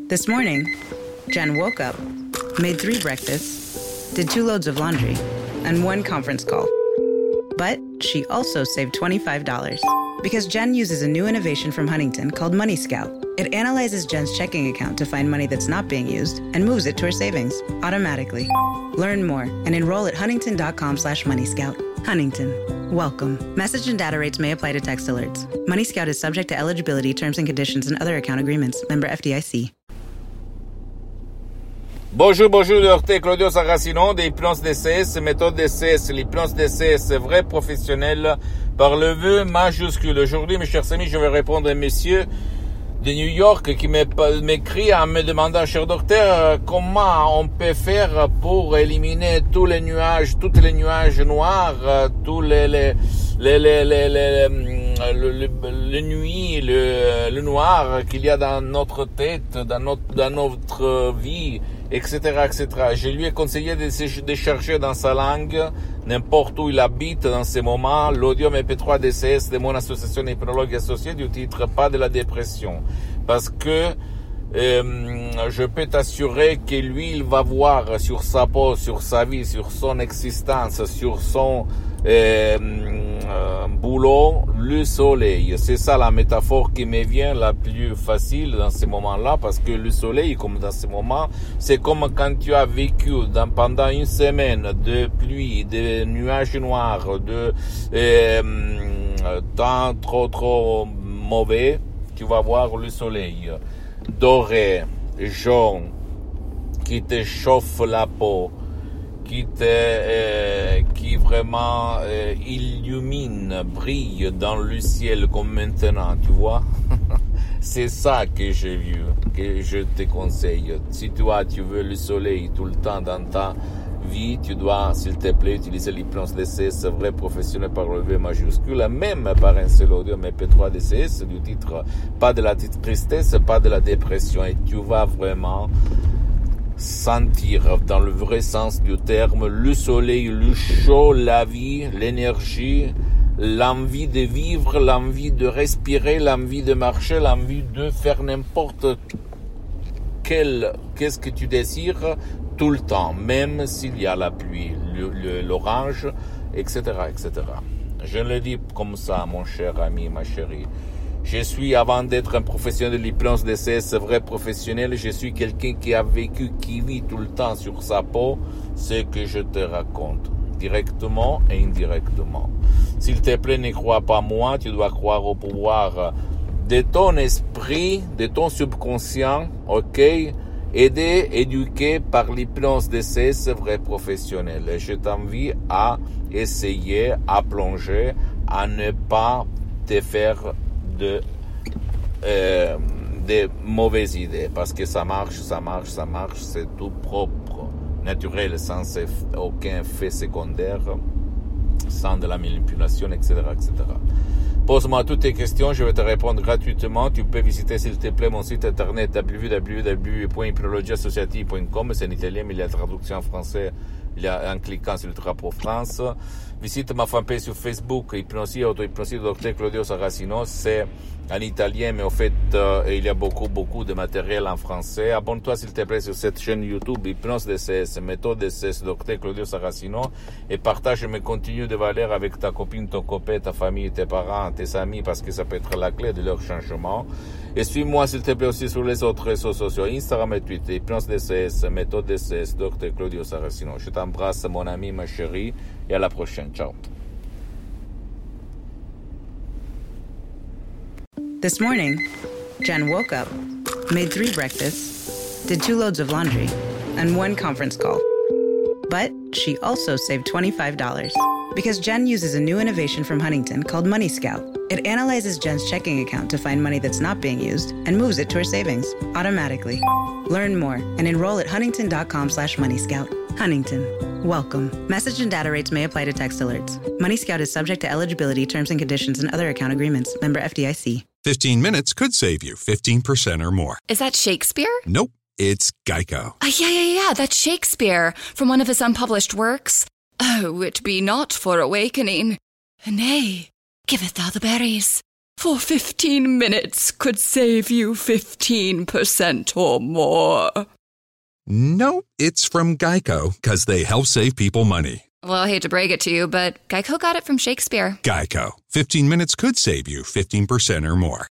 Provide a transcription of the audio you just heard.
This morning, Jen woke up, made 3 breakfasts, did 2 loads of laundry, and 1 conference call. But she also saved $25 because Jen uses a new innovation from Huntington called Money Scout. It analyzes Jen's checking account to find money that's not being used and moves it to her savings automatically. Learn more and enroll at huntington.com/moneyscout. Huntington. Welcome. Message and data rates may apply to text alerts. Money Scout is subject to eligibility, terms and conditions, and other account agreements. Member FDIC. Bonjour, docteur Claudio Saracino de l'hypnose DCS, méthode DCS, l'hypnose DCS vrai professionnel par le vœu majuscule. Aujourd'hui, mes chers amis, je vais répondre à un monsieur de New York qui m'écrit en me demandant, cher docteur, comment on peut faire pour éliminer tous les nuages noirs, tous les nuits, le noir qu'il y a dans notre tête, dans notre vie, etc., etc. Je lui ai conseillé de chercher dans sa langue, n'importe où il habite dans ces moments, l'audio MP3 DCS de mon association hypnologue associée du titre Pas de la dépression. Parce que je peux t'assurer que lui, il va voir sur sa peau, sur sa vie, sur son existence, sur son boulot, le soleil. C'est ça la métaphore qui me vient la plus facile dans ces moments-là, parce que le soleil, comme dans ces moments, c'est comme quand tu as vécu pendant une semaine de pluie, de nuages noirs, de temps trop mauvais, tu vas voir le soleil doré, jaune, qui te chauffe la peau, qui vraiment illumine, brille dans le ciel comme maintenant, tu vois. C'est ça que j'ai vu, que je te conseille. Si toi, tu veux le soleil tout le temps dans ta vie, tu dois, s'il te plaît, utiliser l'hypnose DCS vrai professionnel par le V majuscule, même par un seul audio MP3 DCS du titre Pas de la tristesse, pas de la dépression, et tu vas vraiment sentir dans le vrai sens du terme le soleil, le chaud, la vie, l'énergie, l'envie de vivre, l'envie de respirer, l'envie de marcher, l'envie de faire n'importe qu'est-ce que tu désires tout le temps, même s'il y a la pluie, l'orage, etc., etc. Je le dis comme ça, mon cher ami, ma chérie. Je suis, avant d'être un professionnel de l'hypnose DCS vrai professionnel, je suis quelqu'un qui a vécu, qui vit tout le temps sur sa peau ce que je te raconte, directement et indirectement. S'il te plaît, ne crois pas moi, tu dois croire au pouvoir de ton esprit, de ton subconscient, ok, éduqué par l'hypnose DCS vrai professionnel. Et je t'invite à essayer, à plonger, à ne pas te faire de mauvaises idées, parce que ça marche, c'est tout propre, naturel, sans aucun effet secondaire, sans de la manipulation, etc., etc. Pose-moi toutes tes questions, je vais te répondre gratuitement. Tu peux visiter, s'il te plaît, mon site internet www.hypnologieassociative.com. C'est en italien, mais il y a la traduction en français. Il y a en cliquant sur le drapeau France. Visite ma fanpage sur Facebook, Hypnosie, Auto-Hypnosie, Dr Claudio Saracino. C'est en italien, mais en fait, il y a beaucoup de matériel en français. Abonne-toi, s'il te plaît, sur cette chaîne YouTube, Hypnose DCS, méthode DCS, Dr Claudio Saracino, et partage mes contenus de valeur avec ta copine, ton copain, ta famille, tes parents, tes amis, parce que ça peut être la clé de leur changement. Et suis-moi, s'il te plaît, aussi sur les autres réseaux sociaux, Instagram et Twitter, Hypnose DCS, méthode DCS, Dr Claudio Saracino. Je t'embrasse, mon ami, ma chérie, et à la prochaine. Ciao. This morning, Jen woke up, made 3 breakfasts, did 2 loads of laundry, and 1 conference call. But she also saved $25 because Jen uses a new innovation from Huntington called Money Scout. It analyzes Jen's checking account to find money that's not being used and moves it to her savings automatically. Learn more and enroll at huntington.com/moneyscout. Huntington. Welcome. Message and data rates may apply to text alerts. Money Scout is subject to eligibility, terms and conditions, and other account agreements. Member FDIC. 15 minutes could save you 15% or more. Is that Shakespeare? Nope, it's Geico. Yeah, that's Shakespeare from one of his unpublished works. Oh, it be not for awakening. Nay, giveth thou the berries. for 15 minutes could save you 15% or more. No, it's from Geico, because they help save people money. Well, I hate to break it to you, but Geico got it from Shakespeare. Geico. 15 minutes could save you 15% or more.